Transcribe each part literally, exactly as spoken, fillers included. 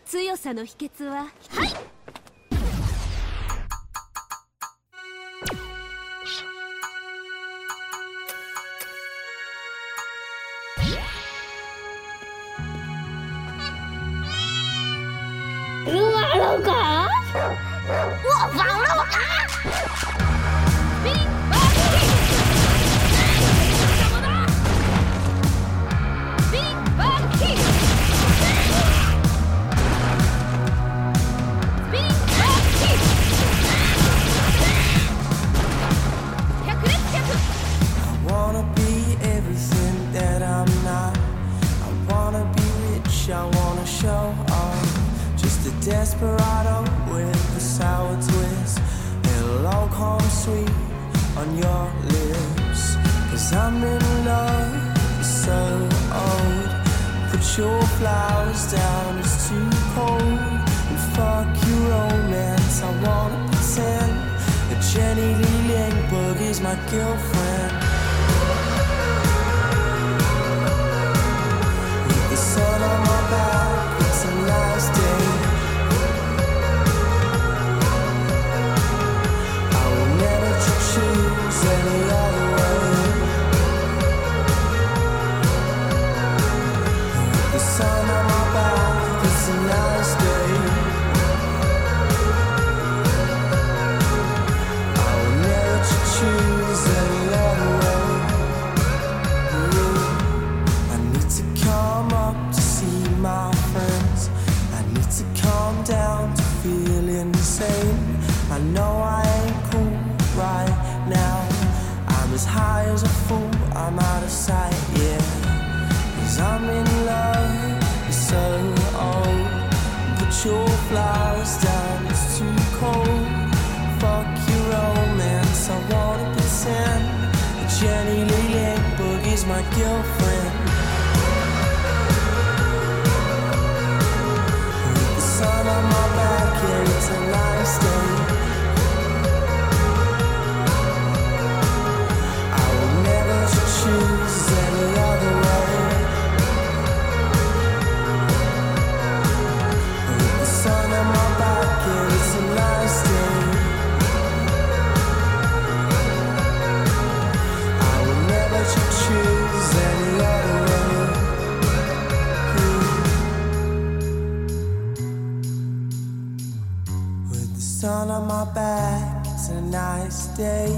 強さの秘訣は、はい。 赢完了卡， 我忘了我卡。 冰巴蒂，怎么的？冰巴蒂，冰巴蒂，百列百。 I wanna be everything that I'm not. I wanna be rich, I wanna show off. Just a desperado with a sour twist. It'll all come sweet on your lips. Cause I'm in love, you're so old. Put your flowers down, it's too cold. And fuck your romance, I wanna pretend that Jenny Lee Lindbergh is my girlfriend. With the sun on my back, it's a nice day. I will never choose any other way. With the sun on my back, it's a nice day. I will never choose any other way. I need to come up to see my friends. I need to calm down to feel insane. I know I ain't cool right now. I'm as high as a fool, I'm out of sight, yeah. Cause I'm in love, you're so old. Put your flowers down, it's too cold. Fuck your romance, I wanna pretend that Jenny Lee Lindbergh is my girlfriend. With the sun on my back, yeah, it's a nice day. I will never choose any other way. With the sun on my back, yeah, it's a nice day. I will never choose any other way. With the sun on my back, it's a nice day.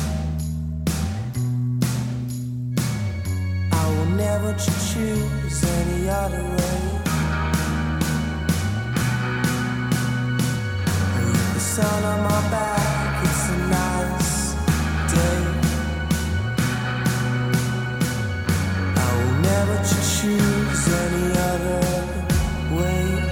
I will never choose any other way. With the sun on my back, it's a nice day. I will never choose any other way.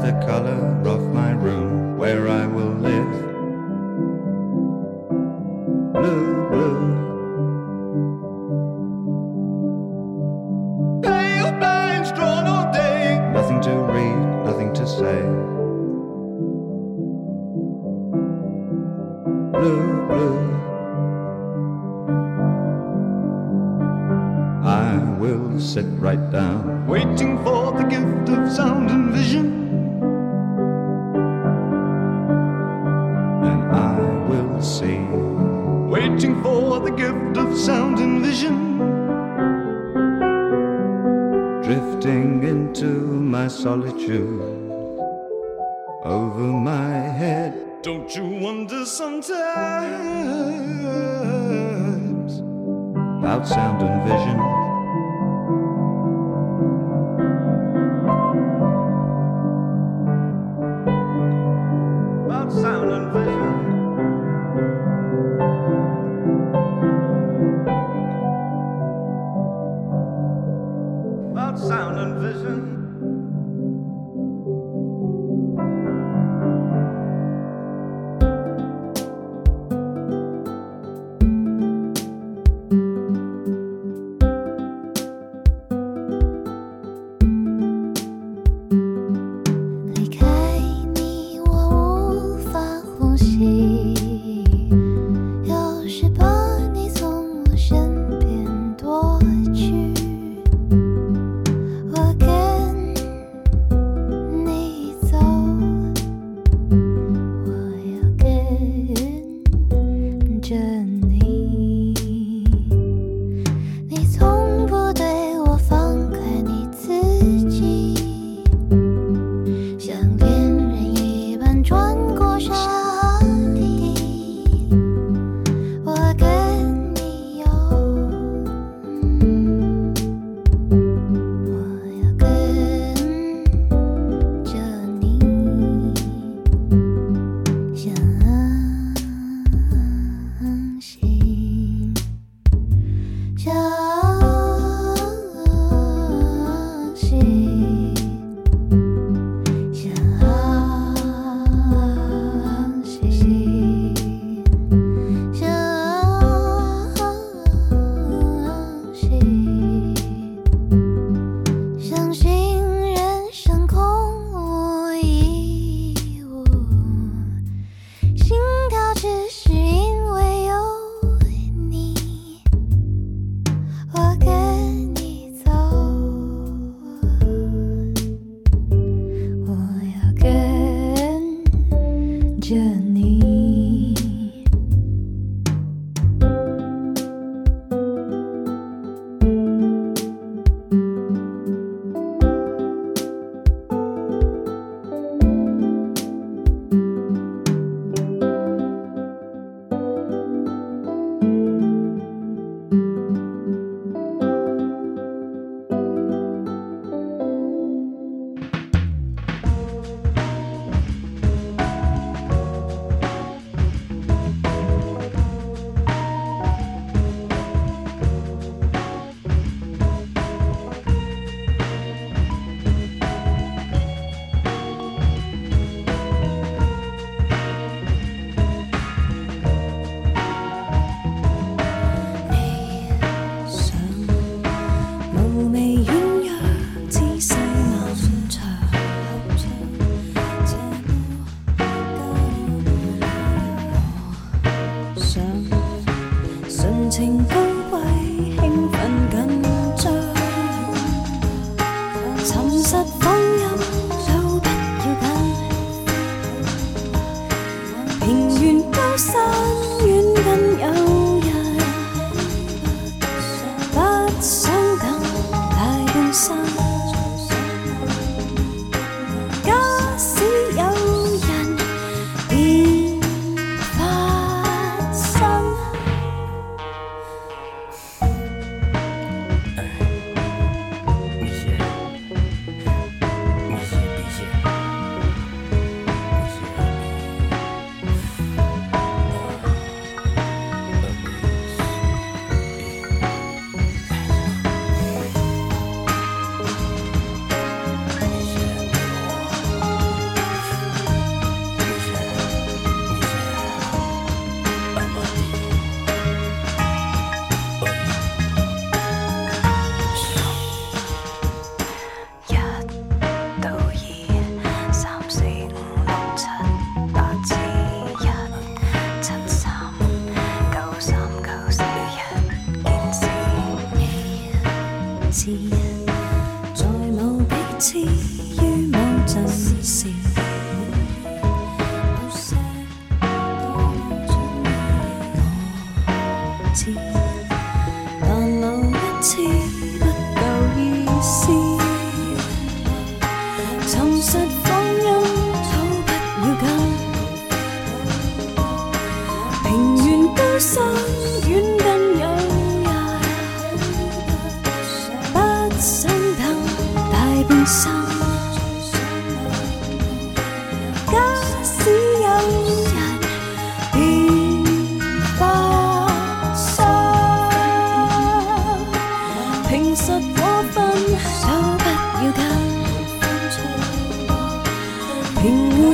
the color of my room where I will live. Blue, blue. Pale blinds drawn all day. Nothing to read, nothing to say. Blue, blue. I will sit right down, waiting for the gift of sound and vision. And I will see, waiting for the gift of sound and vision. Drifting into my solitude, over my head. Don't you wonder sometimes about sound and vision? About sound and vision. About sound and vision. 我跟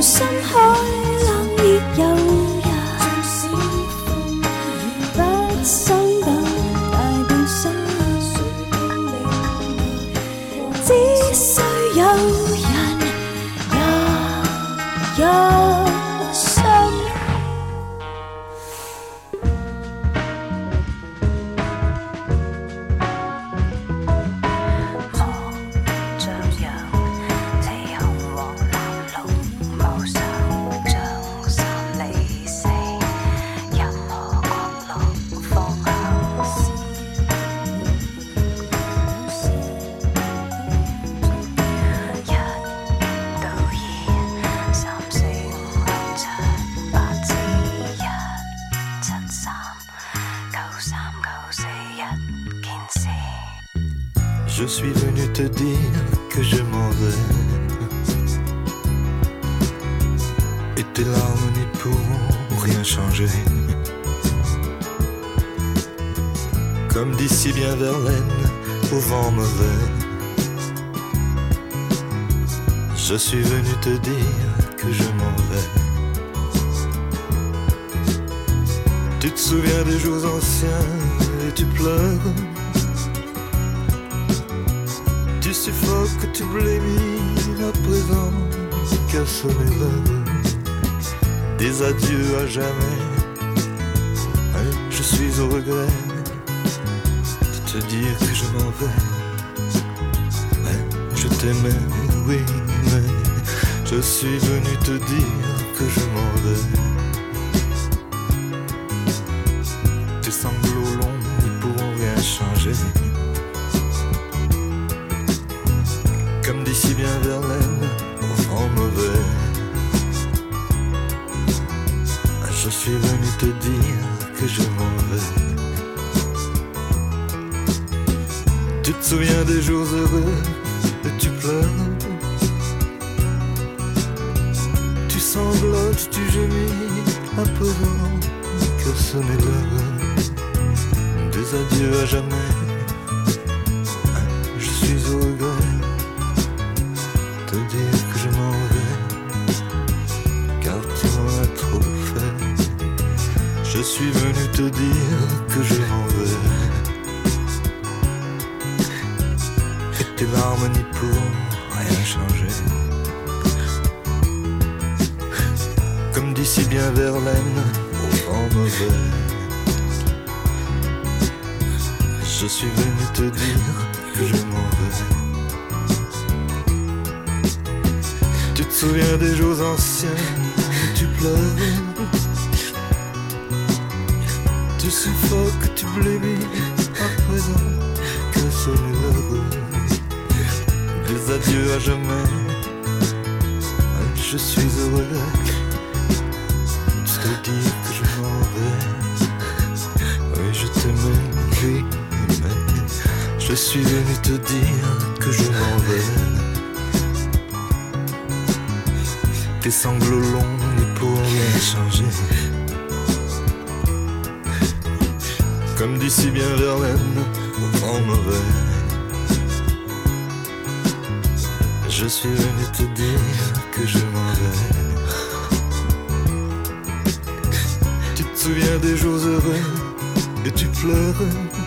深海冷熱誘人，不想等大變身，只需有人也一生。 Je suis venu te dire que je m'en vais, et tes larmes n'y pourront rien changer. Comme dit si bien Verlaine au vent mauvais, je suis venu te dire que je m'en vais. Tu te souviens des jours anciens et tu pleures. Tu suffoques, tu blémis à présent, qu'à sonner l'heure des adieux à jamais. Et je suis au regret de te dire que je m'en vais. Et je t'aimais, oui, mais je suis venu te dire que je m'en vais. Tes sanglots longs ne pourront rien changer. Comme dit si bien Verlaine, au vent mauvais, je suis venu te dire que je m'en vais. Tu te souviens des jours heureux et tu pleures. Tu sanglotes, tu gémis à présent, que sonnait l'heure des adieux à jamais. Je suis au regret te dire que je m'en vais, car tu m'en as trop fait. Je suis venu te dire que je m'en vais, et tes larmes n'y pourront rien changer. Comme dit si bien Verlaine au vent mauvais, je suis venu te dire que je m'en vais. Tu te souviens des jours anciens, tu pleures. Tu suffoques, tu blémis à présent, que sonne l'heure des adieux à jamais. Je suis heureux de te dire que je m'en vais. Oui, je t'aimais, oui, mais je suis venu te dire que je m'en vais. Tes sanglots longs ne pourront rien changer. Comme dit si bien Verlaine au vent mauvais, je suis venu te dire que je m'en vais. Tu te souviens des jours heureux et tu pleures.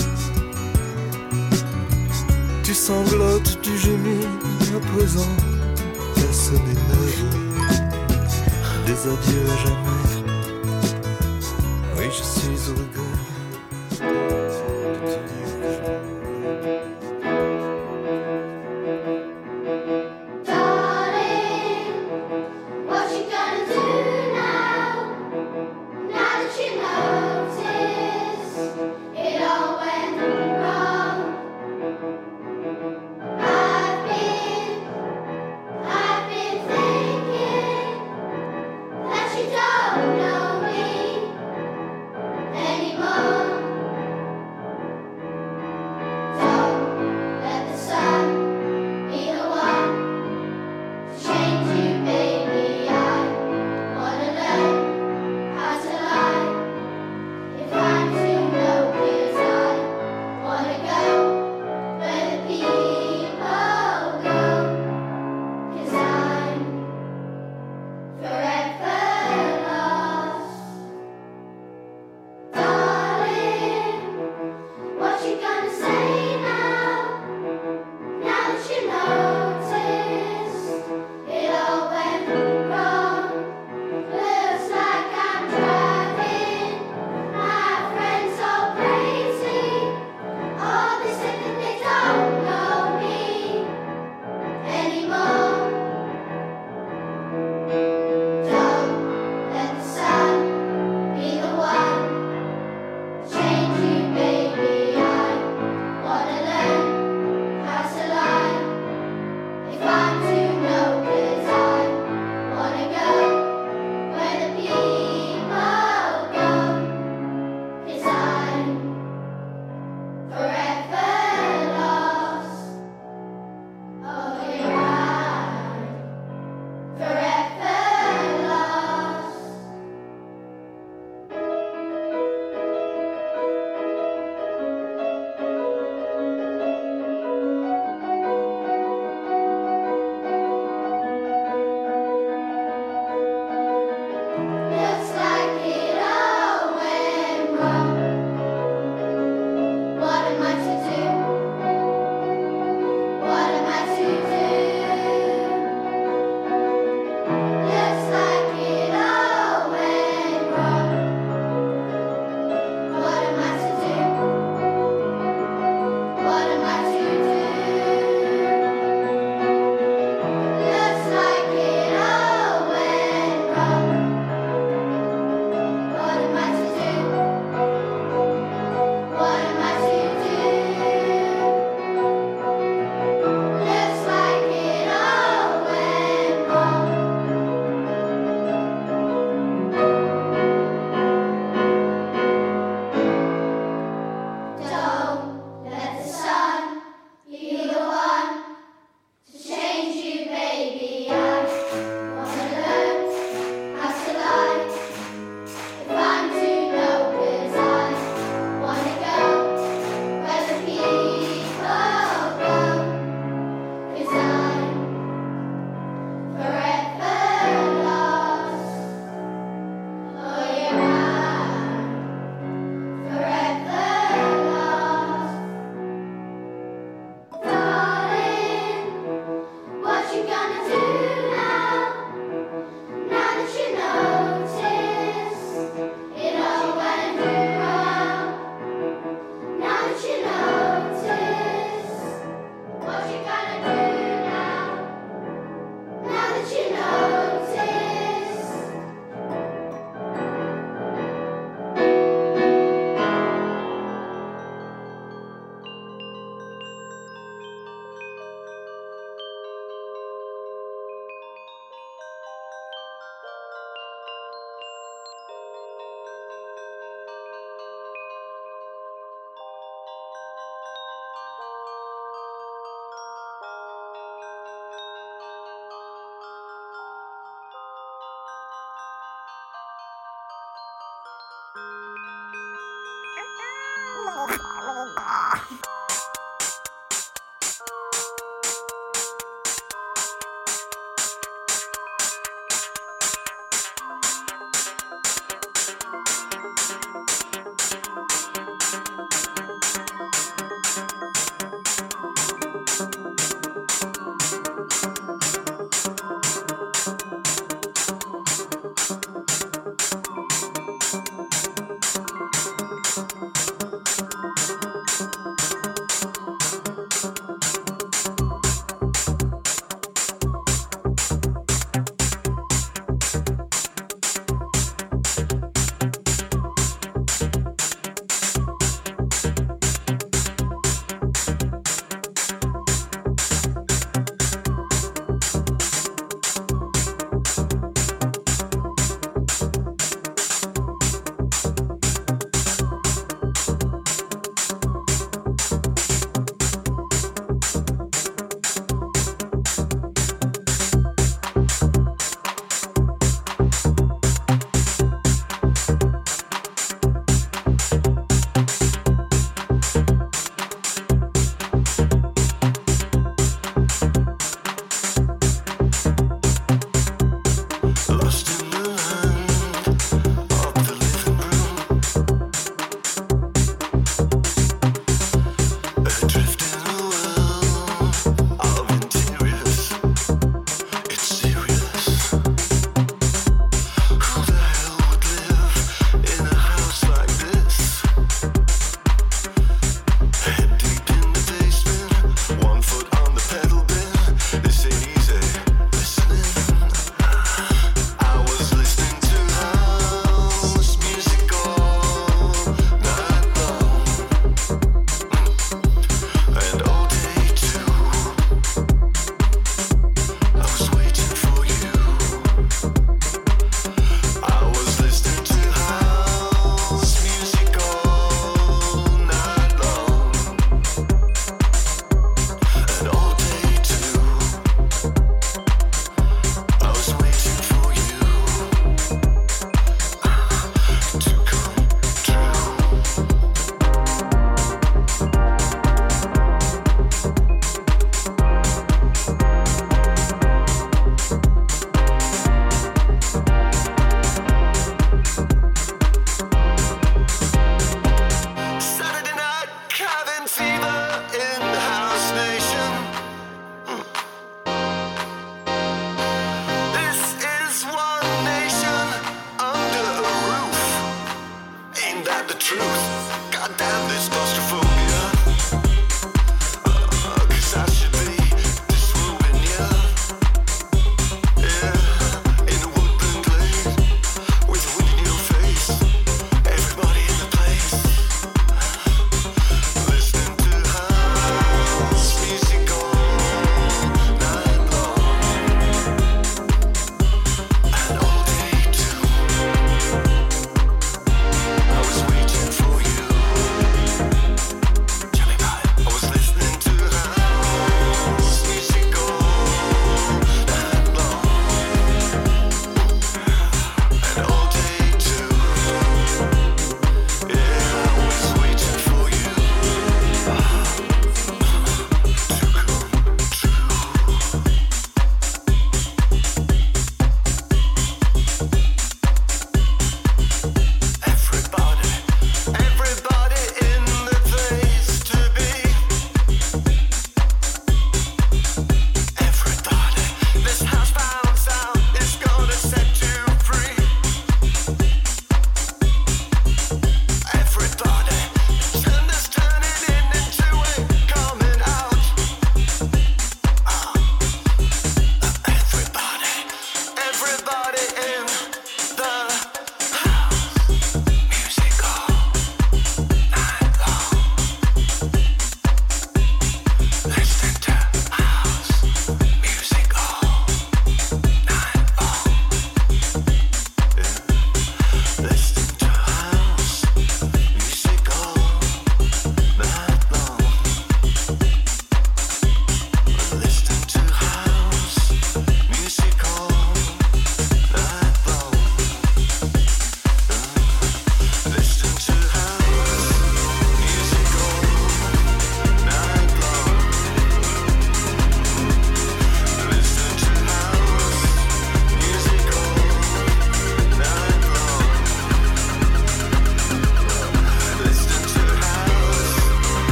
Tu sanglotes, tu gémis à présent, qu'à sonner l'heure des adieux à jamais. Oui, je suis au regret. Anymore.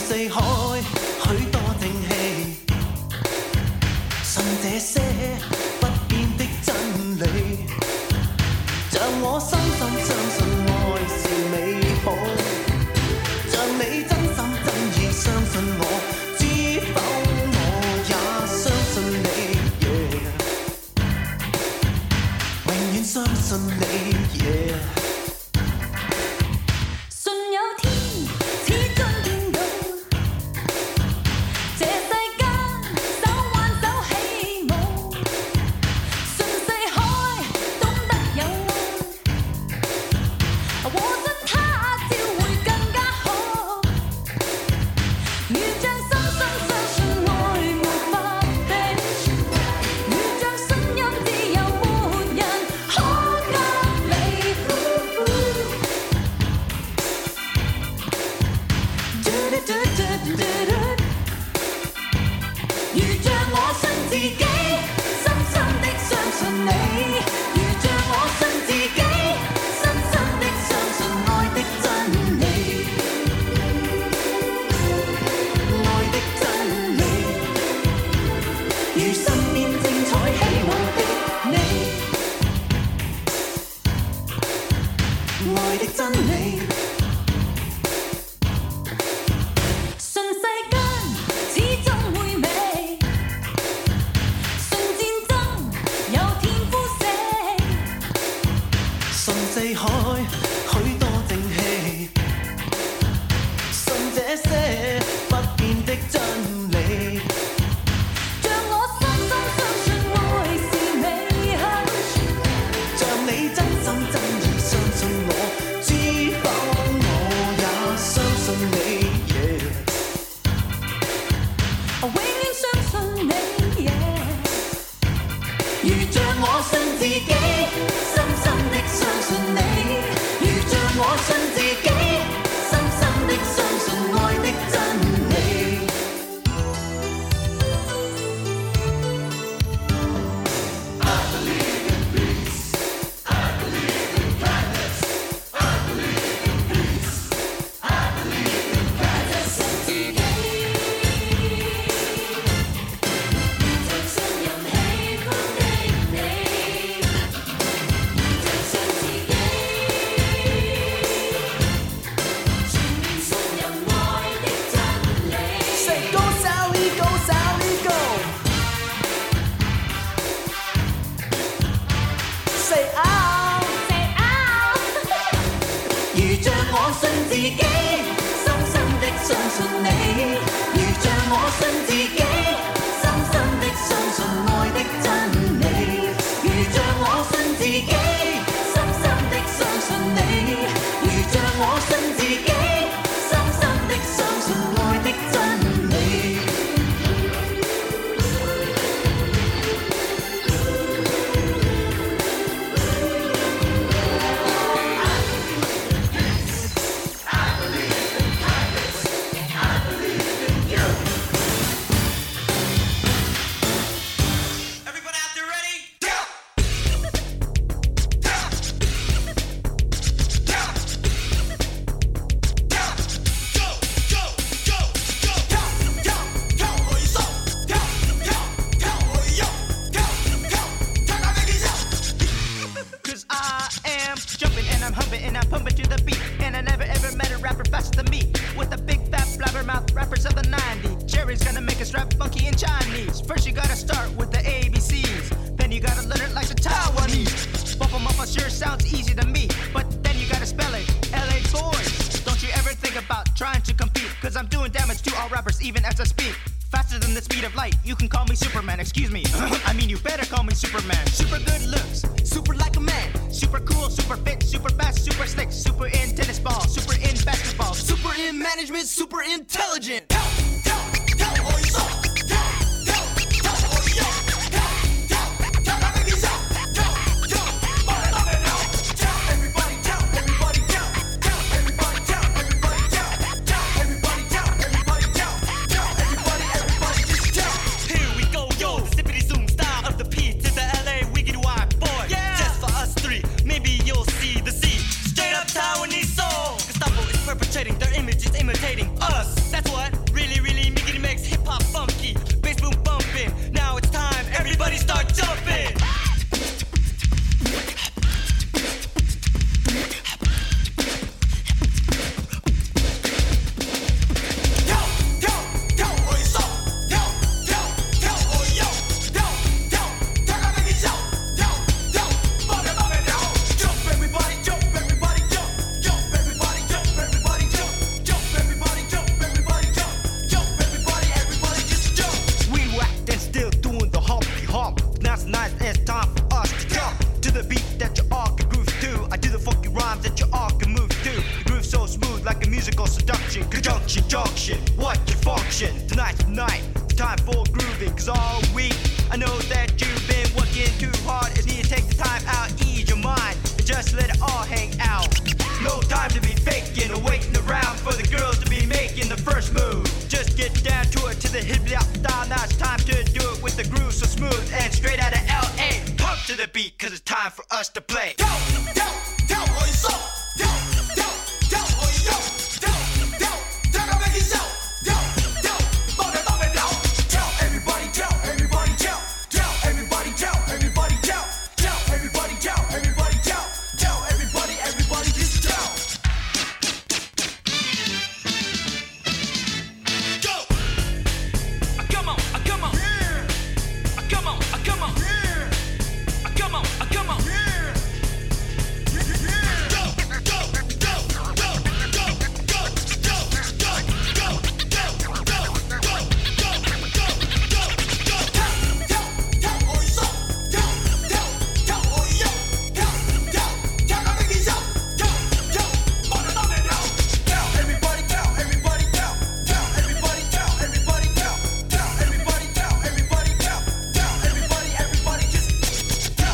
四海許多正氣，信這些不變的真理，像我深深相信愛是美好，像你真心真意相信我，知否我也相信你， yeah. 永遠相信你， yeah. Conjunction, junction, what your function? Tonight's the night, time for grooving. Cause all week, I know that you've been working too hard. It's need to take the time out, ease your mind, and just let it all hang out. No time to be faking or waiting around for the girls to be making the first move. Just get down to it, to the hip-hop style. Now it's time to do it with the groove so smooth and straight out of L A. Pump to the beat, cause it's time for us to play. Yo, yo, yo, oh, it's up. Yo, yo, yo, oh, yo. Yo, yo, yo, go make it so. Yo, yo, bump it, bump it down. Tell everybody, tell everybody, tell. Tell everybody, tell everybody, tell. Tell everybody, tell everybody, tell. Tell everybody, everybody, just tell. Go! Uh, come on, uh, come on. Yeah. Uh, come on, uh, come on. Yeah. Uh, come on, uh, come on. Yeah. Go, go, go, go, go, go, go, go, go, go, go, go, go, go, go, go. Tell, tell, tell, oh, it's up. Tell, tell, tell, oh, yo. Tell, tell, tell, go make it so. Tell, tell, bump it, bump it down. Tell everybody, tell everybody, tell. Tell everybody, tell everybody, tell. Tell everybody, tell everybody, tell. Tell everybody, everybody, just tell.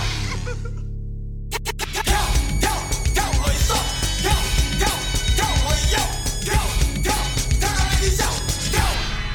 Tell, tell, tell, oh, it's up. Tell, tell, tell, oh, yo. Tell, tell, tell, go make it so. Tell.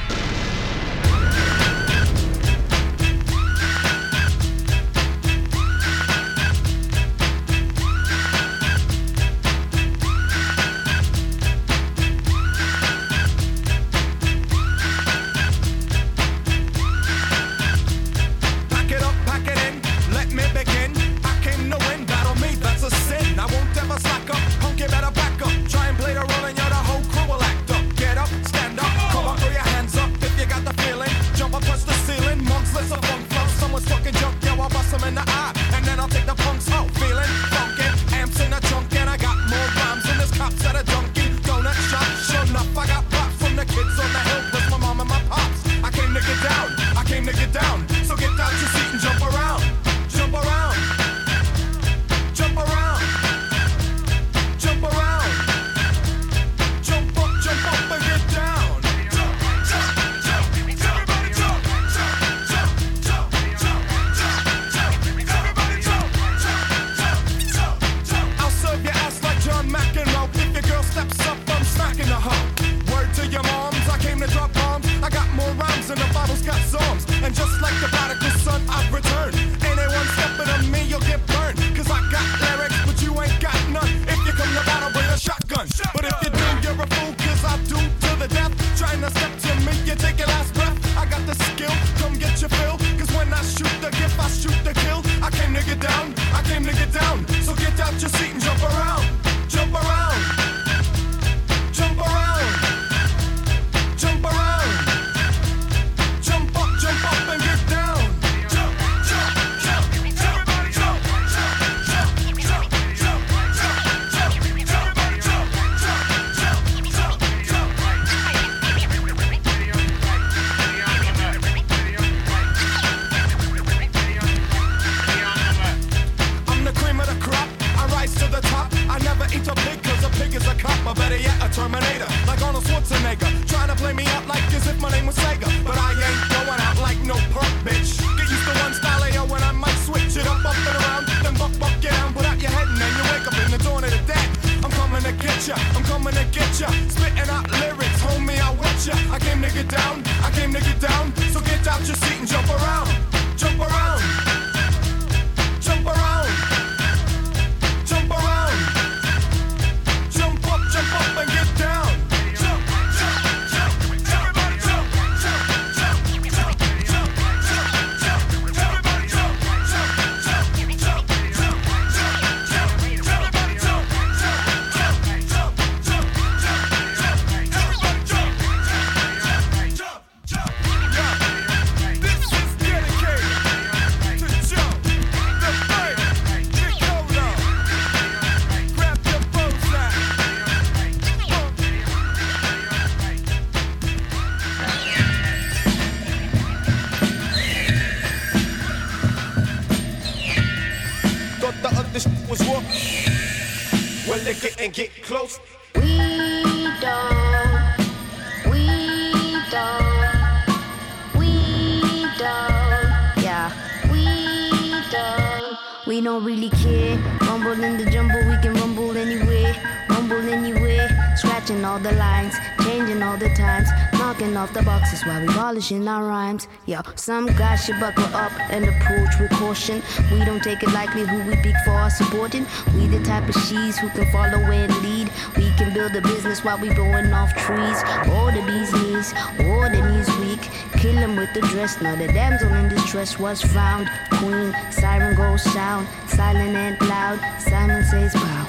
Pack it up, pack it in, let me begin. I came to win, battle me, that's a sin. I won't ever slack up, punk, you better back up. Try and play the role and you're the whole crew will act up. Get up, stand up, come on, throw your hands up if you got the feeling. Jump up, touch the ceiling, monks, let's a funk flow. Someone's fucking junk, yo, I'll bust them in the eye. And then I'll take the punks out, feeling funky. Amps in the trunk and I got more rhymes than this cops at a junkie. Donut shop, sure enough, I got props from the kids on the hill, plus my mom and my pops. I came to get down, I came to get down. So get out your seat and jump around, jump around, jump around, jump around, jump up, jump up and get down. Jump, jump, jump, everybody jump, jump, jump, jump, jump, jump, jump, everybody jump, jump, jump, jump, jump. I'll serve your ass like John McEnroe. If your girl steps up, I'm smacking the hoe. Word to your moms, I came to drop bombs. I got more rhymes than the Bible's got psalms. And just like the prodigal son, I've returned. Anyone stepping on me, you'll get burned. Cause I got lyrics, but you ain't got none. If you come to battle, bring a shotgun. But if you do, you're a fool, cause I do to the death. Trying to step to me, you take your last breath. I got the skill, come get your fill. Cause when I shoot the gift, I shoot the kill. I came to get down, I came to get down. So get out your seat and jump around, jump around, jump around, jump around, jump up, jump up and get down. Jump, jump, jump, everybody jump, jump, jump, jump, jump, jump, jump, everybody jump, jump, jump, jump, jump. I'm the cream of the crop, I rise to the top. I never eat a pig cause a pig is a cop. Or better yet, a Terminator, like Arnold Schwarzenegger. Trying to play me out like as if my name was Sega. But I ain't going out like no punk bitch. Get used to one style of yo when I might switch it up, up and around. Then buck, buck, get down, put out your head and then you wake up in the dawn of the dead. I'm coming to get ya, I'm coming to get ya. Spitting out lyrics, homie, I with ya. I came to get down, I came to get down. So get out your seat and jump around, jump around, jump around, jump around, jump up, jump up and get down. Jump, jump, jump, everybody jump, jump, jump, jump, jump, jump, jump, everybody jump, jump, jump, jump, jump, jump, jump, everybody jump, jump, jump, jump, jump, jump, everybody jump, jump, jump, jump. Yeah. This is dedicated to Joe, the bird, Nicola. Grab your bows out. Thought the other shit was war. Well, they get and get close. We don't really care. Rumble in the jumble, we can rumble anywhere. Rumble anywhere. Scratching all the lines, changing all the times, knocking off the boxes while we polishing our rhymes. Yo, some guys should buckle up and approach with caution. We don't take it lightly who we pick for our supporting. We the type of she's who can follow and lead. We can build a business while we blowing off trees. All the bees knees, all the knees weak. Kill him with the dress. Now the damsel in distress was found. Queen, siren goes sound, silent and loud. Simon says wow.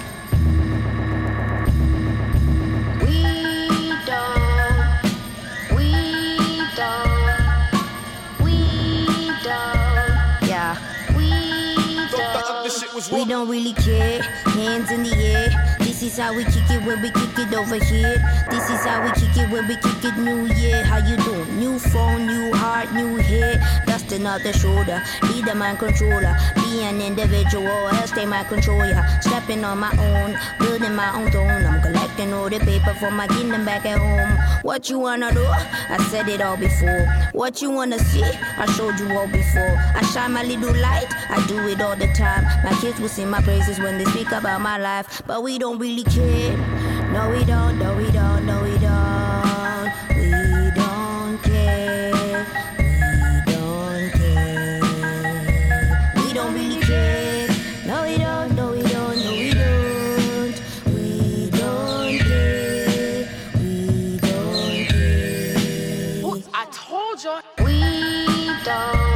We don't really care, hands in the air. This is how we kick it when we kick it over here. This is how we kick it when we kick it new year. How you doing? New phone, new heart, new hair. Dusting off the shoulder, be the mind controller. Be an individual, else they might control ya. Stepping on my own, building my own throne. I'm collecting all the paper for my kingdom back at home. What you wanna do? I said it all before. What you wanna see? I showed you all before. I shine my little light, I do it all the time. My kids will sing my praises when they speak about my life. But we don't really care. No we don't, no we don't, no we don't. We don't care. We don't care. We don't really care. No we don't, no we don't, no we don't. We don't care. We don't care. Ooh, I told you. We don't.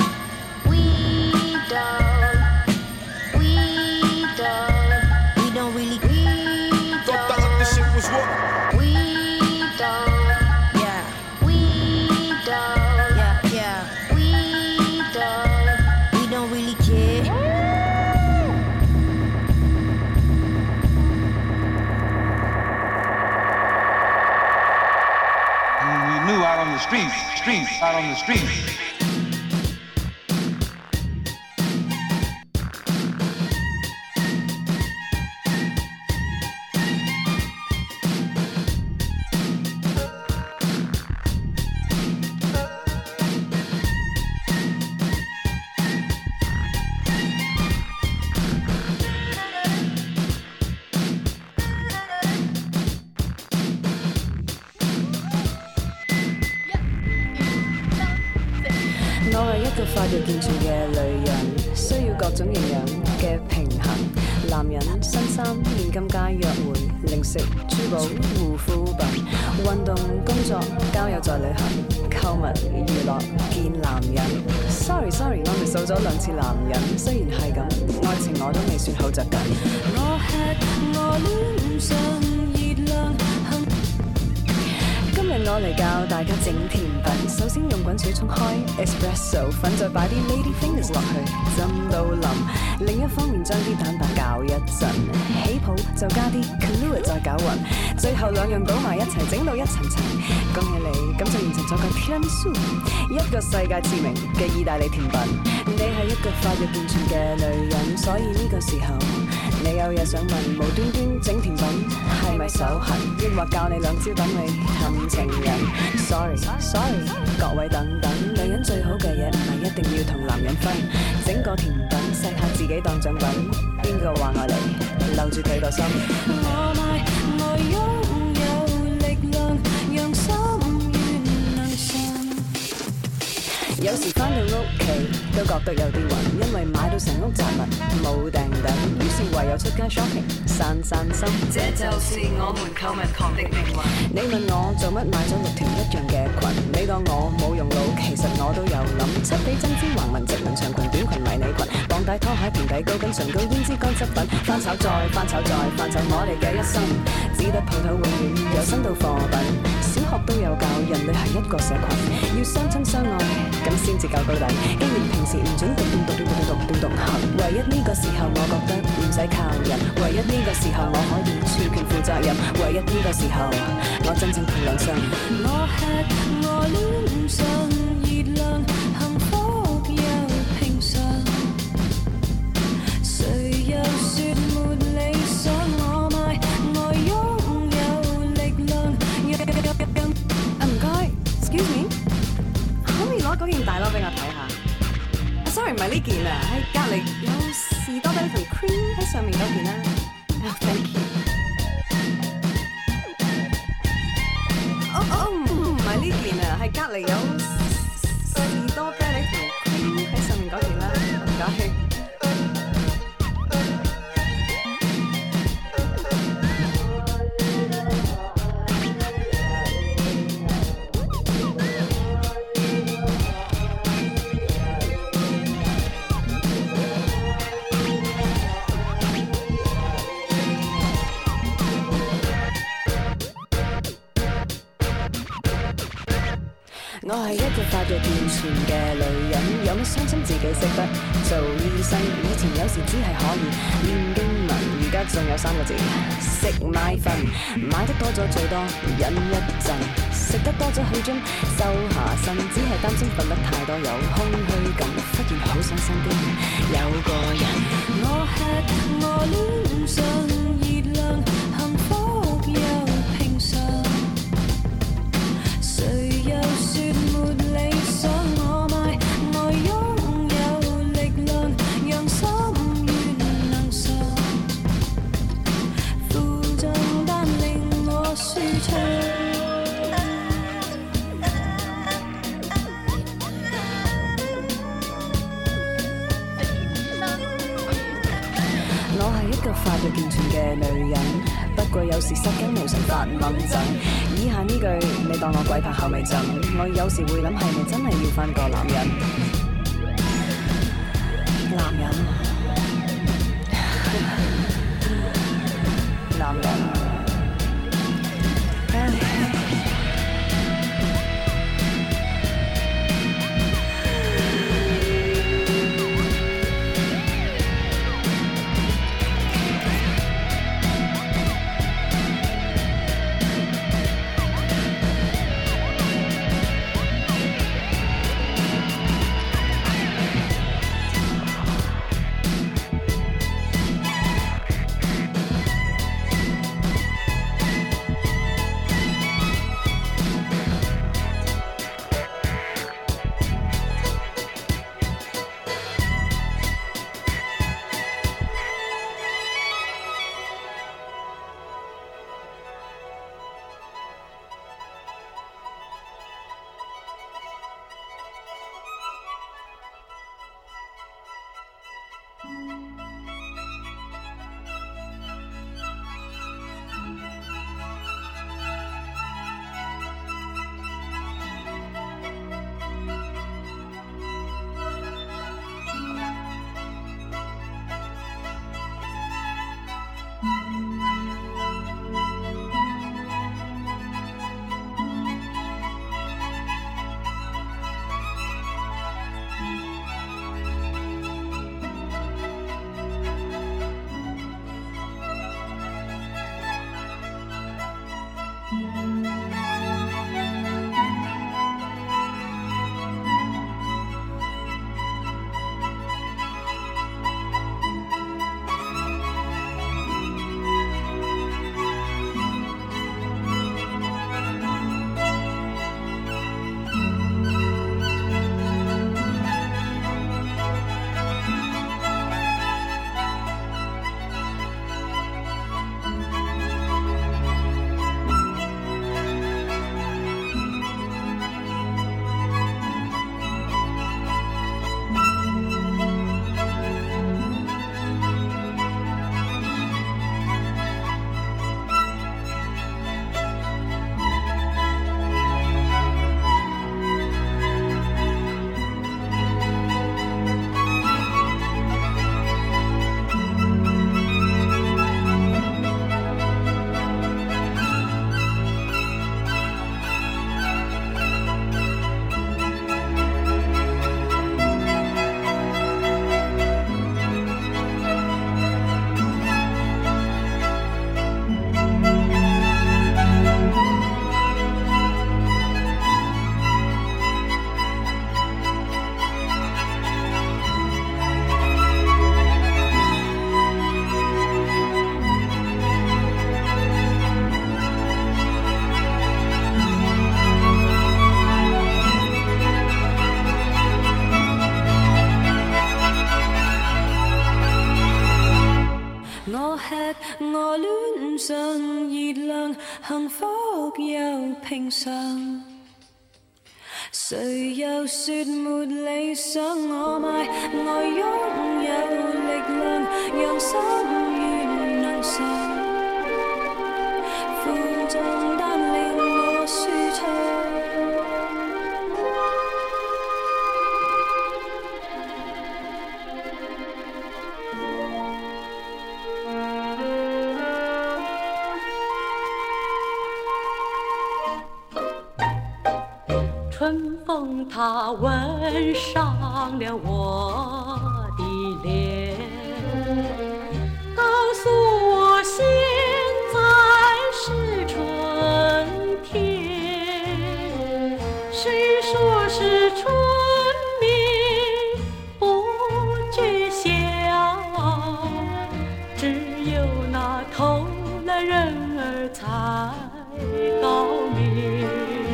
We don't. Out on the streets, streets, out on the streets. 發育健全嘅女人，需要各種營養嘅平衡。男人新衫、現金街、約會、零食、珠寶、護膚品、運動、工作、交友再旅行、購物、娛樂、見男人。Sorry sorry， 我咪數咗兩次男人，雖然係咁，愛情我都未算好着緊。我吃我戀上熱量。今日我嚟教大家整甜品，首先用滾水沖開 espresso 粉，再擺啲 lady fingers 落去，浸到腍。另一方面將啲蛋白攪一陣，起泡就加啲 Kahlua 再攪勻，最後兩樣倒埋一齊，整到一層層。恭喜你，咁就完成咗個 tiramisu， 一個世界馳名嘅意大利甜品。你係一個發育健全嘅女人，所以呢個時候你有嘢想問，無端端整甜品係咪手痕？抑或教你兩招等你氹情人 ？Sorry sorry， 各位等等，女人最好嘅嘢唔係一定要同男人分，整個甜品錫下自己當獎品。邊個話我嚟？留住佢個心。我買我擁有力量，讓心願能信。有時返到屋企都覺得有啲暈，因為買到成屋雜物冇訂等，於是唯有出街 shopping 散散心。這就是我們購物狂的命運。你問我做乜買咗六條一樣嘅裙？你當我冇用腦，其實我都有諗。漆皮針尖橫紋直紋長裙短裙迷你裙，綁帶拖鞋平底高跟唇膏胭脂乾質粉，翻炒再翻炒再翻炒我哋嘅一生，只得鋪頭永遠由新到貨品。小學都有教人類係一個社群，要相親相愛咁先至夠到底。既然平時唔準獨斷獨斷獨斷獨斷獨行，唯一呢個時候我覺得唔使靠人，唯一呢個時候我可以全權負責任，唯一呢個時候我真正憑良心。我吃我戀上熱量，幸福又平常。誰又說沒理想？我買我擁有力量。啊唔該 ，excuse me， 可唔可以攞嗰件大褸俾我睇下？ Sorry， 唔係呢件啊，喺隔離有少士多啤梨同 cream 喺上面嗰件啦。Oh, thank you。哦哦，唔係呢件啊，係隔離有士多啤梨同 cream 喺上面嗰件啦，唔該。我係一個發育健全嘅女人，有乜傷心自己識得做醫生。以前有時只係可以念經文，而家仲有三個字：食買瞓。買得多咗最多忍一陣，食得多咗好鍾收下身，只係擔心瞓得太多有空虛感，忽然好想身邊有個人。我吃我戀上熱量，幸福又平常。誰又說沒理想？我買我擁有力量，讓心願能上。負重但令我舒暢。我係一個發育健全嘅女人，不過有時失驚無神發猛震。以下呢句你當我鬼拍後尾枕，我有時會諗係咪真係要返個男人？男人，男人。 幸福又平常。谁又说没理想？我埋我拥有力量，让心愿能常。负重但令我舒畅。 春风它吻上了我的脸，告诉我现在是春天。谁说是春眠不觉晓？只有那偷懒人儿才高明。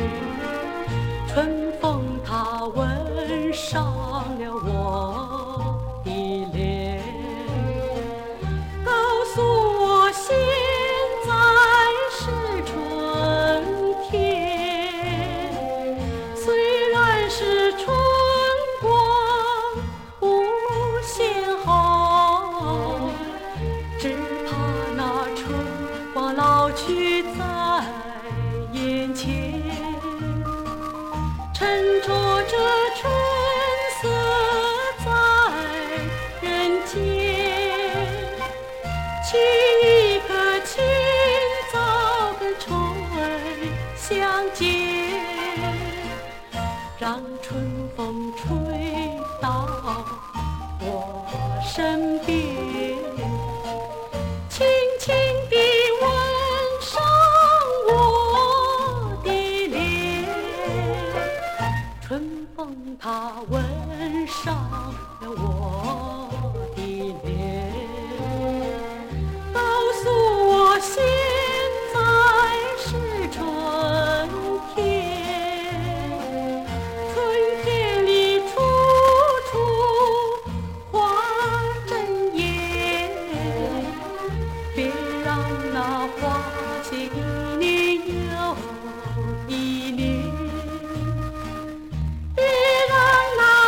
春风它吻上了我的脸，告诉我现在是春天。虽然是春光无限好，只怕那春光老去在眼前。沉着这春色在人间，取一颗清早跟春儿相见，让春风吹到我身边，轻轻地吻上我的脸。春风它吻上了我的脸，告诉我现在是春天。春天里处处花争艳，别让那花谢一年又一年。别让那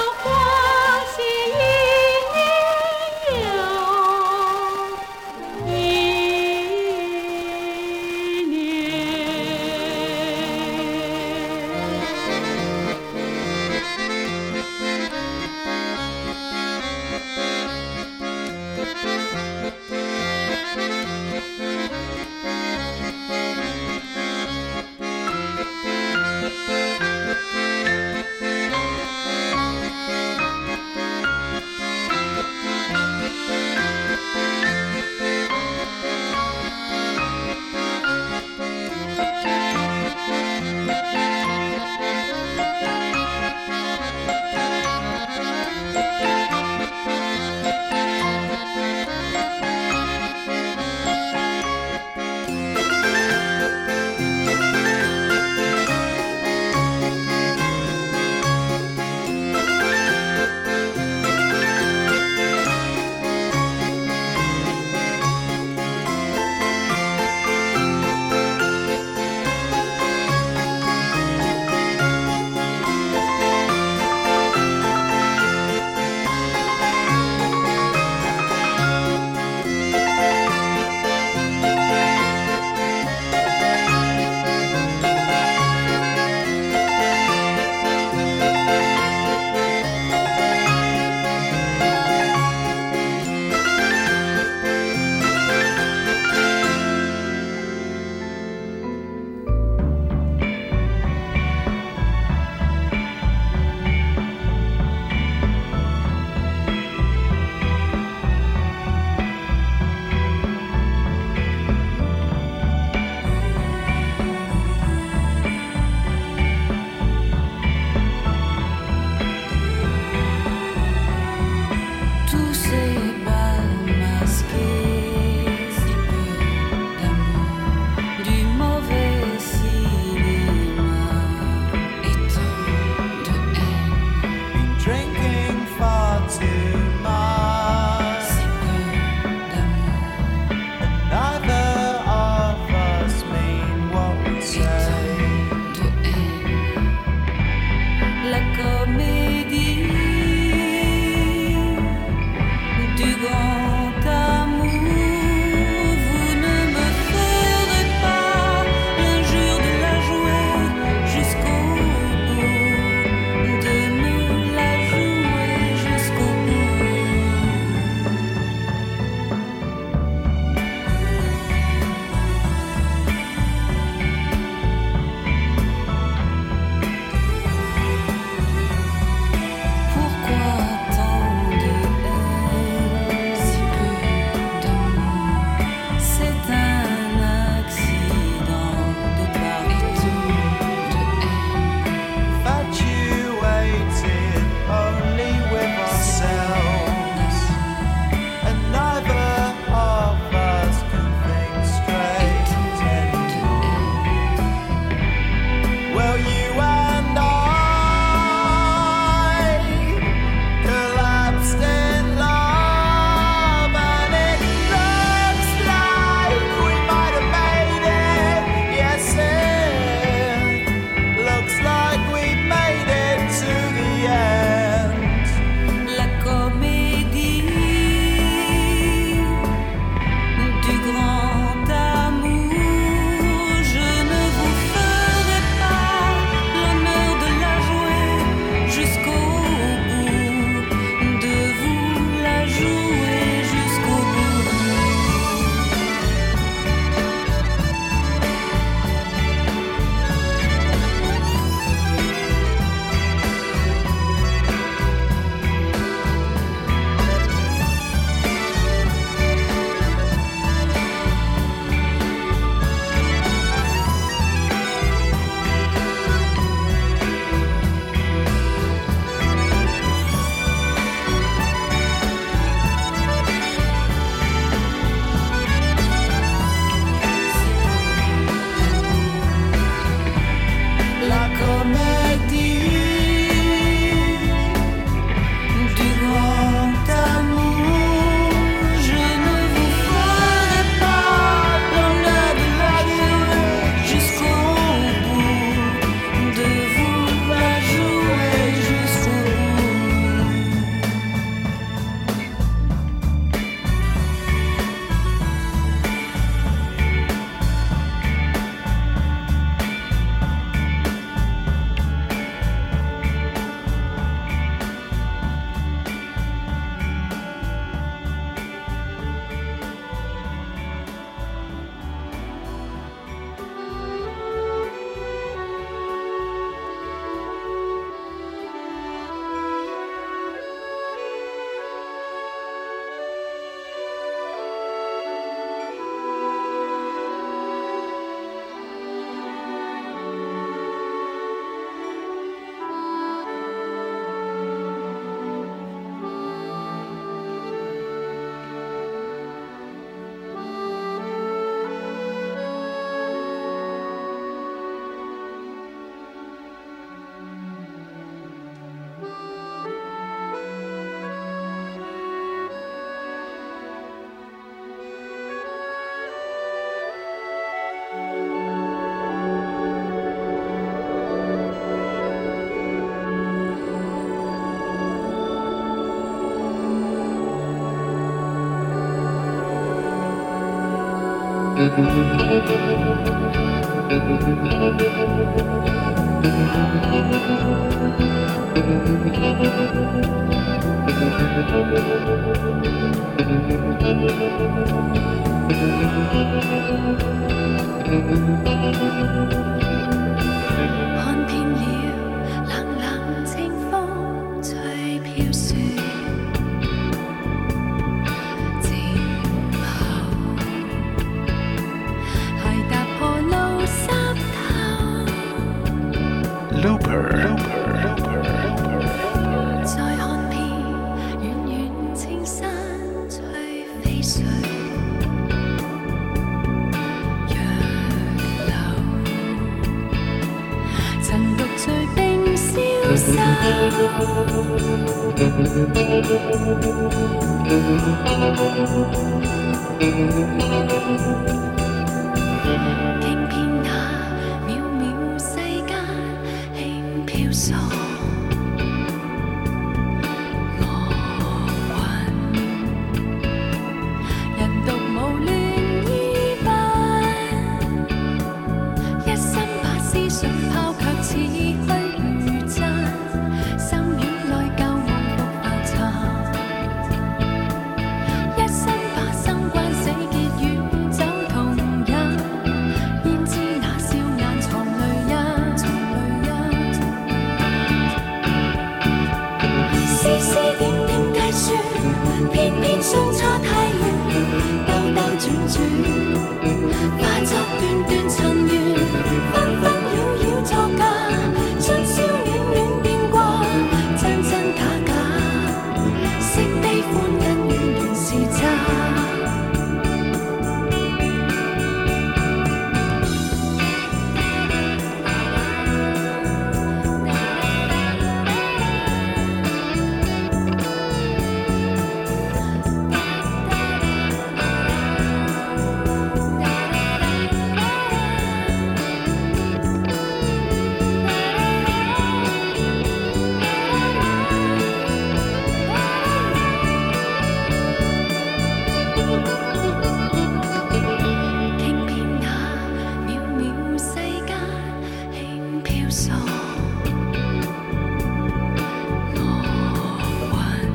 看遍了冷冷清風吹飄雪，靜候鞋踏破路濕透。 Looper. 再看遍遠遠青山吹飛水。曾獨醉冰消失，傾遍那渺渺世間，輕飄索我魂，人獨無戀依奔，一心把思想拋卻似虛如真，心院內舊夢復浮沉，一心把生關死結與酒同飲，焉知那笑眼藏淚印，絲絲點點計算，偏偏相差太遠，兜兜轉轉，化作段段塵緣，紛紛擾擾作假，春宵暖暖變卦，真真假假，惜悲歡恩怨原是渣。傾遍那渺渺世間，輕飄索我魂，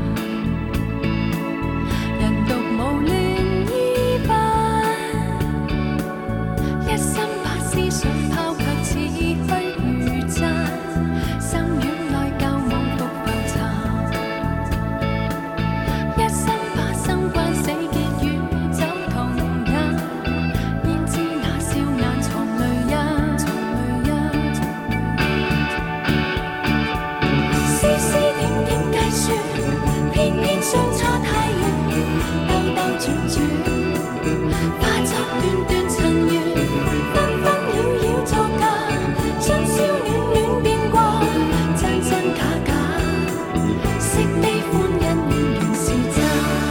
人獨無戀依奔，一心把思想拋卻似虛如真，心院內舊夢復浮沉，一心把生關死結與酒同飲，焉知那笑眼藏淚印，絲絲點點計算，偏偏相差太遠，兜兜轉轉，化作段段塵緣，紛紛擾擾作假，春宵暖暖變卦，真真假假，惜悲歡恩怨原是渣。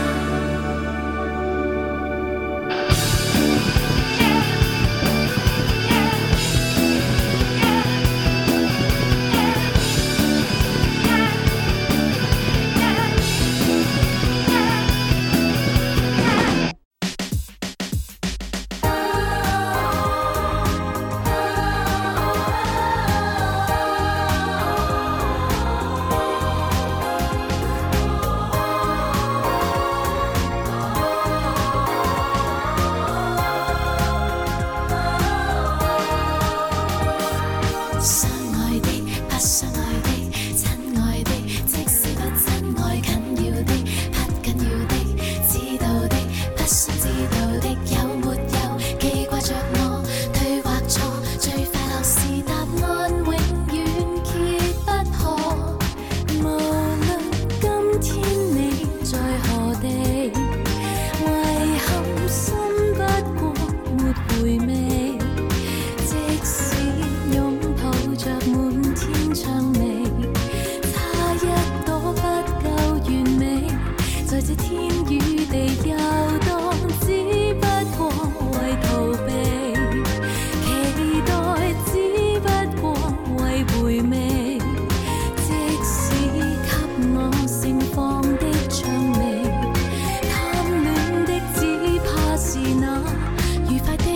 相愛的，不相愛的，親愛的，即使不真愛，緊要的，不緊要的，知道的，不想知道的，有沒有記掛着我？對或錯，最快樂是答案永遠揭不破。無論今天你在何地，遺憾心不過沒回味。即使擁抱着滿天薔薇，差一朵不夠完美，在這天與地遊蕩，只不過為逃避，期待只不過為回味。即使給我盛放的薔薇，貪戀的只怕是那愉快的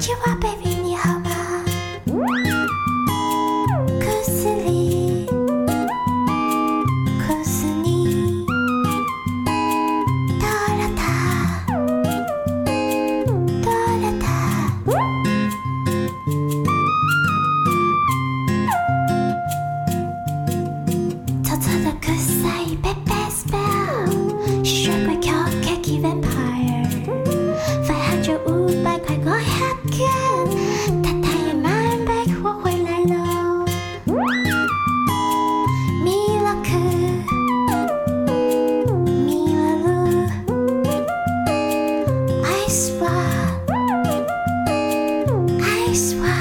句话 ，baby 你好吗？故事里，故事你，多了他，多了他。偷偷的故事里 ，baby spell， 学会跳 Kiki vampire， 发下就五百块我还给。太太也慢被我回来了，迷了课，迷了路，爱swap，爱swap。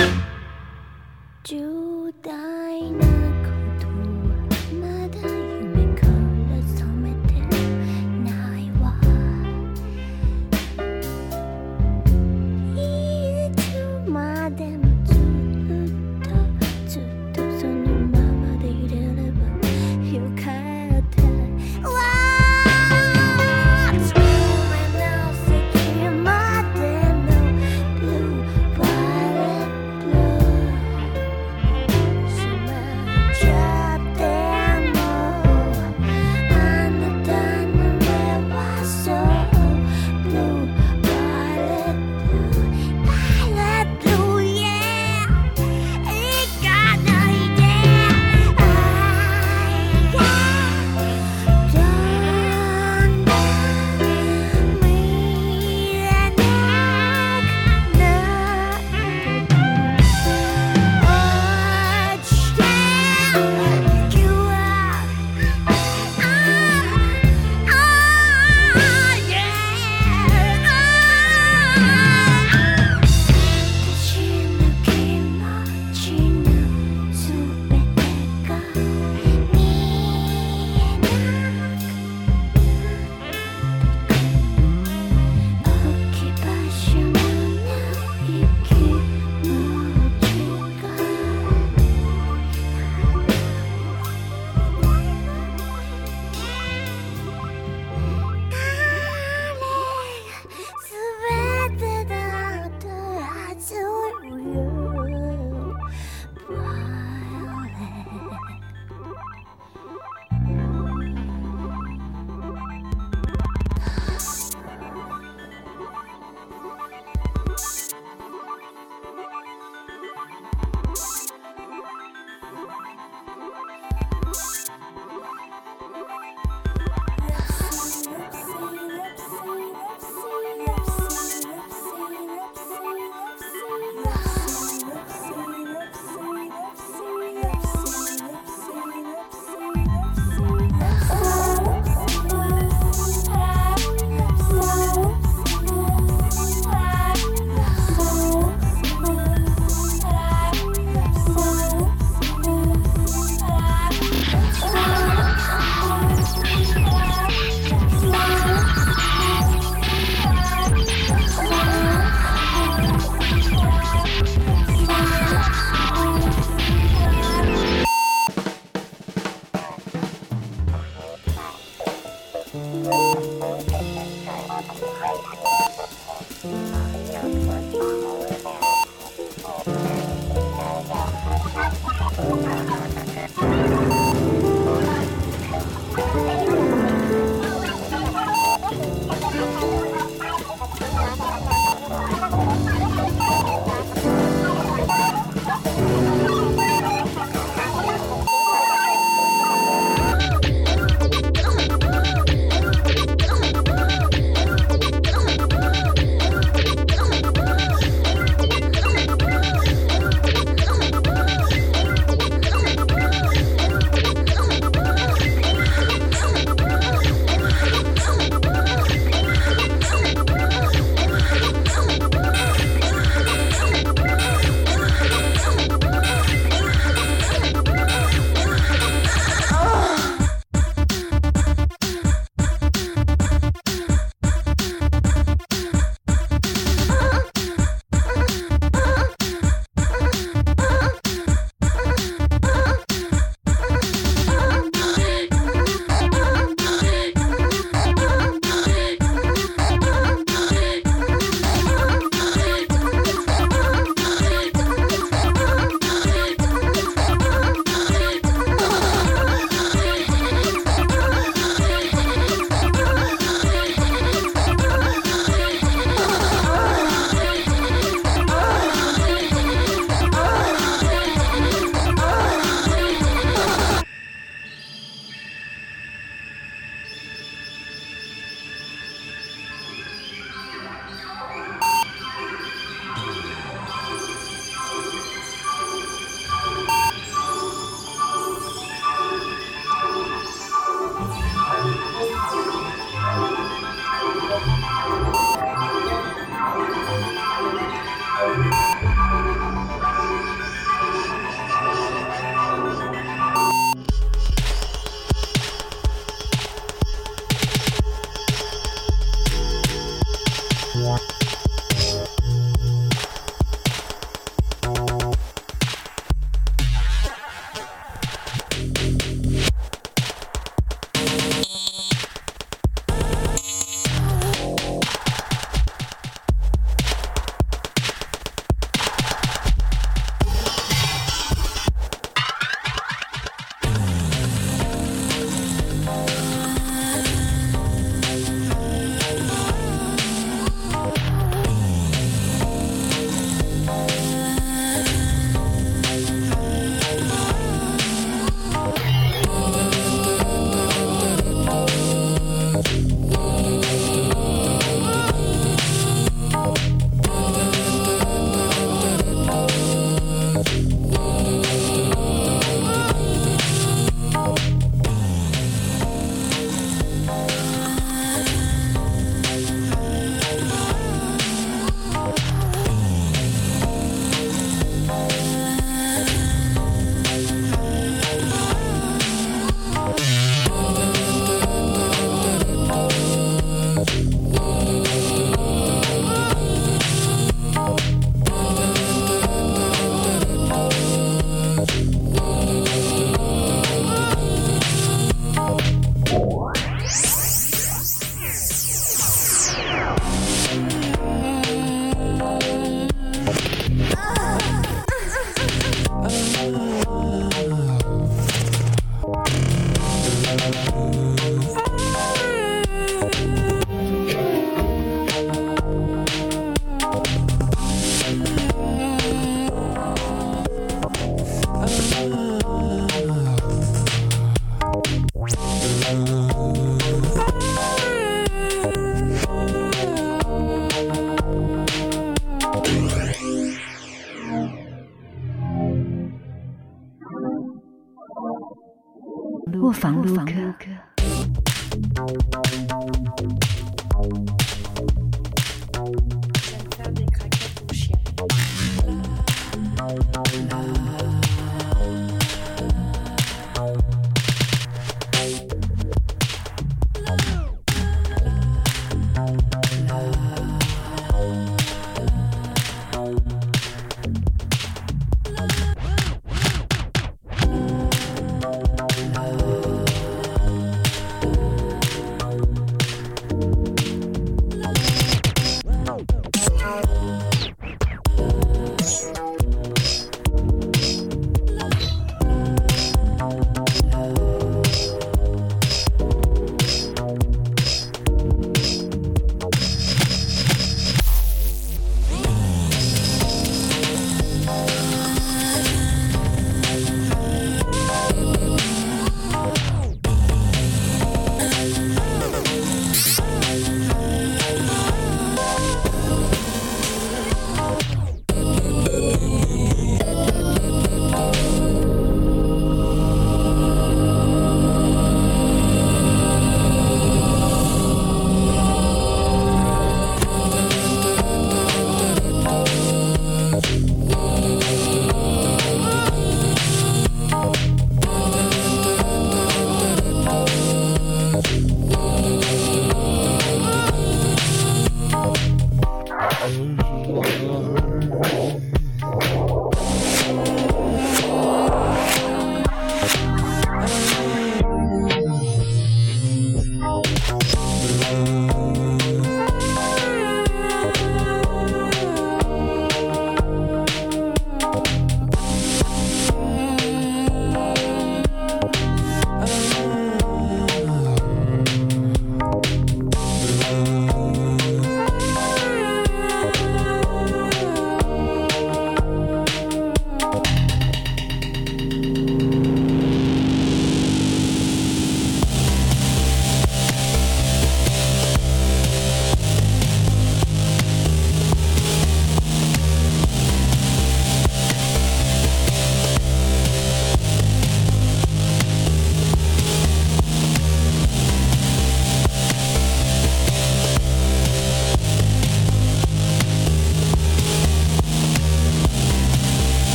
重大なことはまだ夢卧房录歌。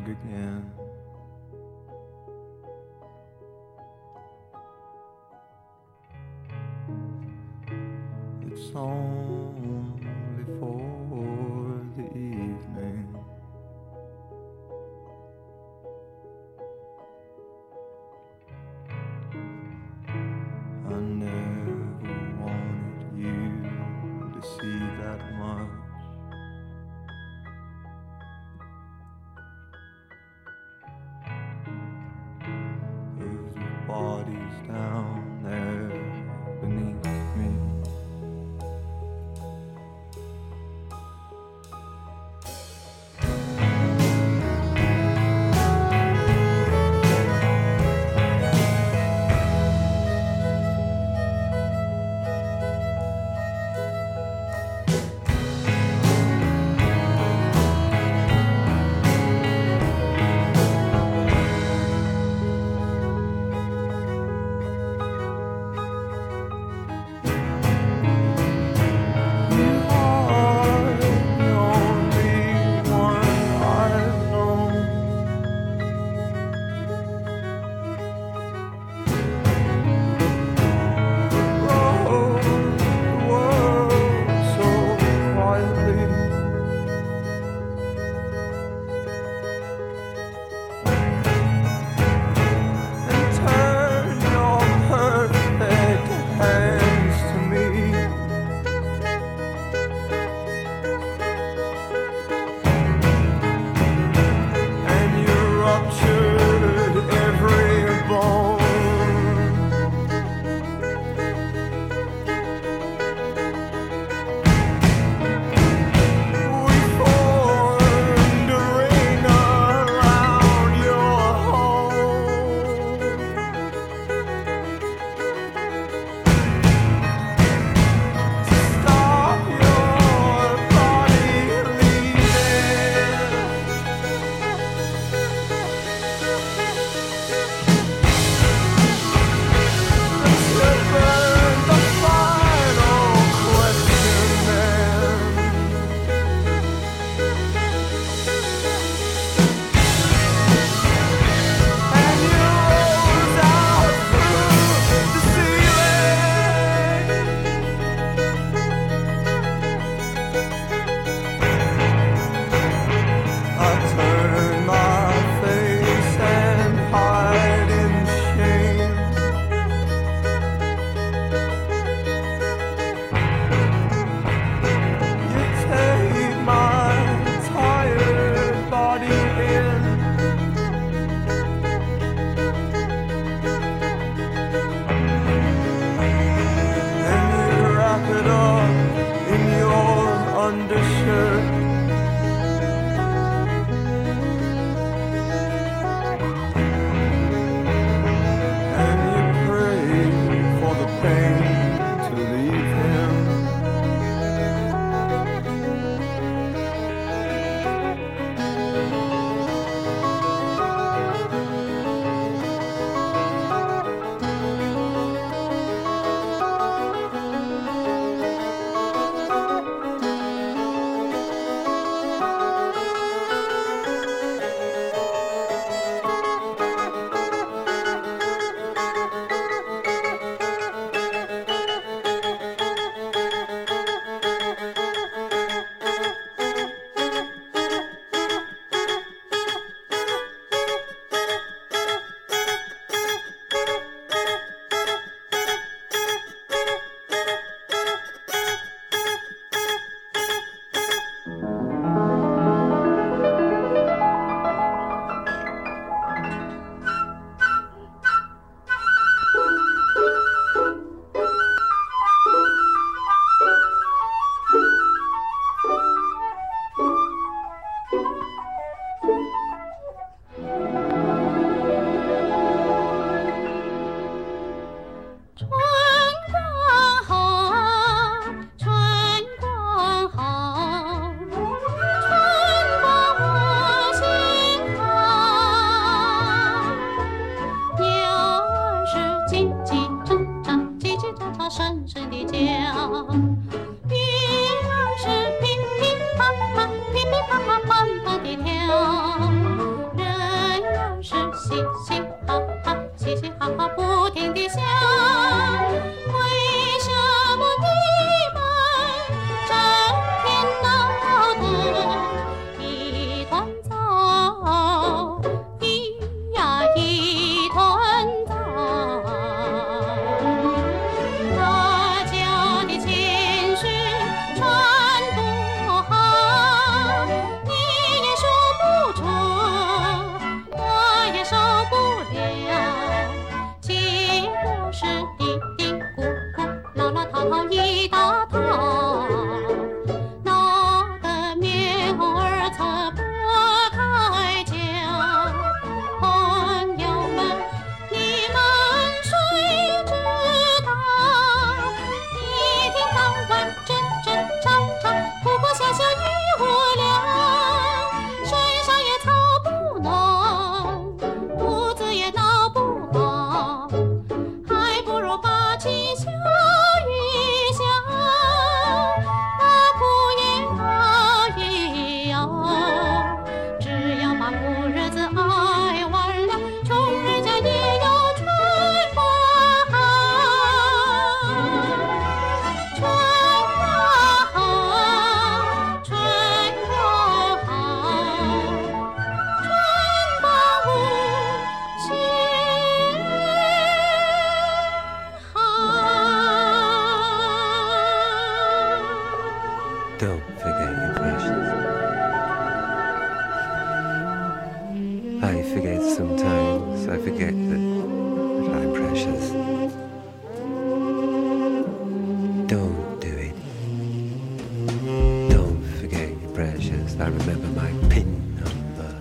hug again. It's only for the evening. I never wanted you to see that much. Of the bodies down there beneath me. 嘻嘻哈哈，嘻嘻哈哈不停地笑。为什么你们整天闹得一团糟？咿呀一团糟。大家的情绪传不好，你也说不准，我也受不了。结果是嘀嘀咕咕，唠唠叨叨一大套，闹得面红耳赤不开交。朋友们，你们谁知道？一天到晚争争吵吵，哭哭笑笑一无聊，身上也操不暖，肚子也闹不好，还不如把气消一消，把苦也熬一熬。只要把苦日子挨完了，穷人家也有春花好，春花好，春花好，春花无限好。 Don't forget your precious. I forget sometimes. I forget that, that I'm precious. Don't do it. Don't forget your precious. I remember my pin number.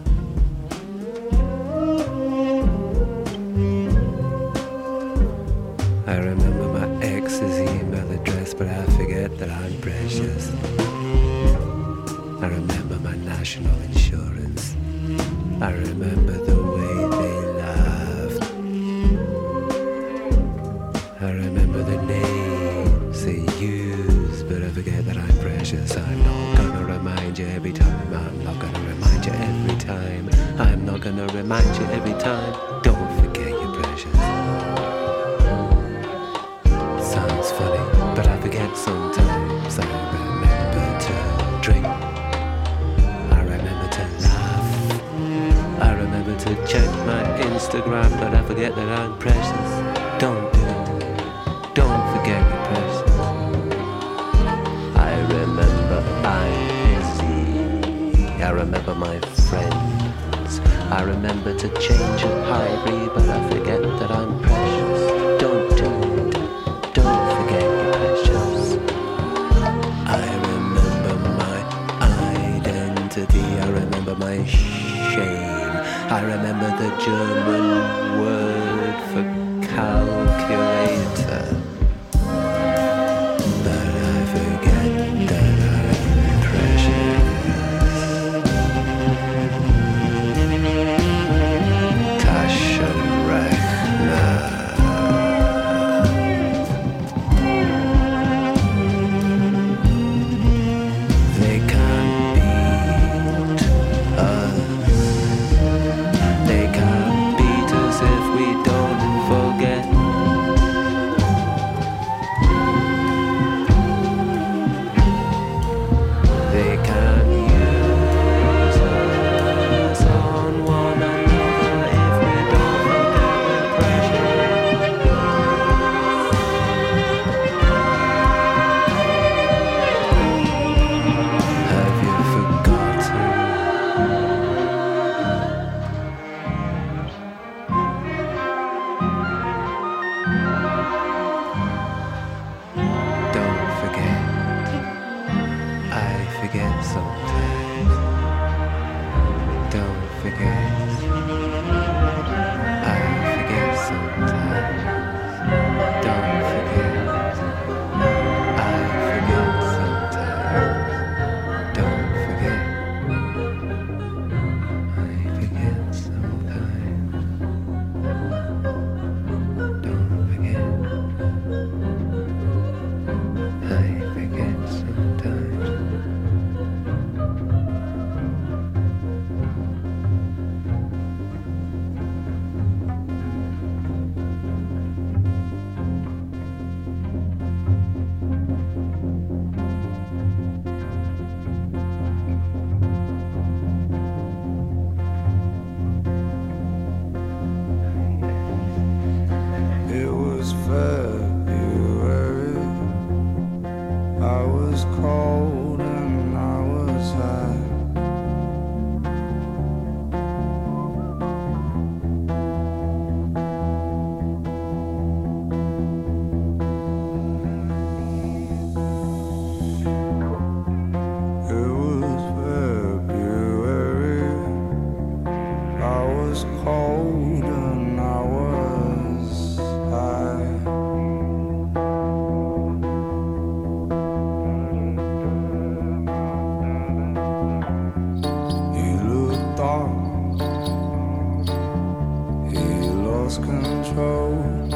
I remember my ex's email address, but I forget that I'm precious. I remember my national insurance. I remember the way they laughed. I remember the names they used, but I forget that I'm precious. I'm not gonna remind you every time. I'm not gonna remind you every time. I'm not gonna remind you every time. Don't forget you're precious. Sounds funny, but I forget sometimes. I remember to drink. I remember to laugh. I remember to check my Instagram, but I forget that I'm precious. Don't do it. Don't forget you're precious. I remember I'm busy. I remember my friends. I remember to change a hybrid, but I forget that I'm precious. Don't do it. Don't forget you're precious. I remember my identity. I remember my shame. I remember the German word for calculator. But I forget that I'm precious. Taschenrechner. They can't beat us. They can't beat us if we don't forget. cold and I was high. He looked up, he lost control.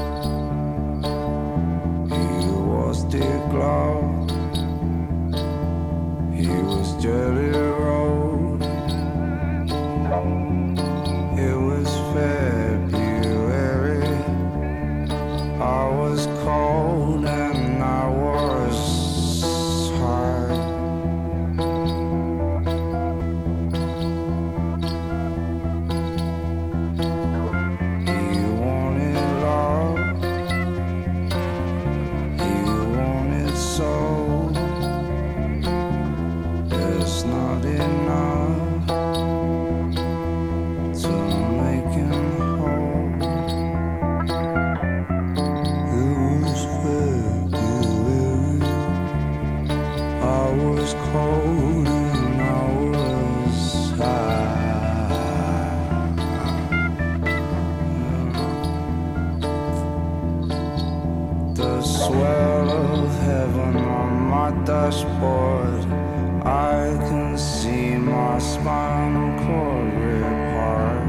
He was degloved, he was jelly rolled. It was February, I was cold and I was high. He wanted love, he wanted soul. There's not enough to make him whole. It was February, I was cold and I was high. The swell of heaven on my dashboard, I can see my spinal cord rip apart.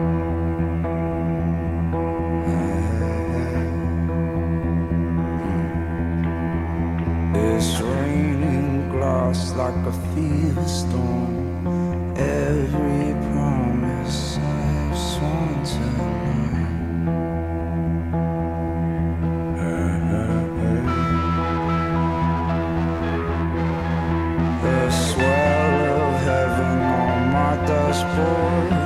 It's raining glass like a fever storm. Every promise I've sworn tonight. The swell of heaven on my dashboard,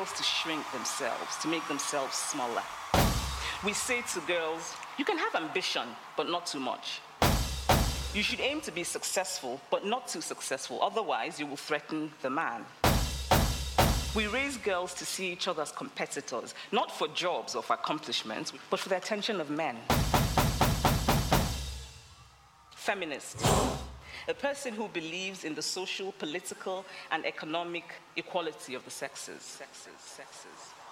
girls to shrink themselves, to make themselves smaller. We say to girls, you can have ambition, but not too much. You should aim to be successful, but not too successful, otherwise you will threaten the man. We raise girls to see each other as competitors, not for jobs or for accomplishments, but for the attention of men. Feminist. A person who believes in the social, political, and economic equality of the sexes. Sexes, sexes.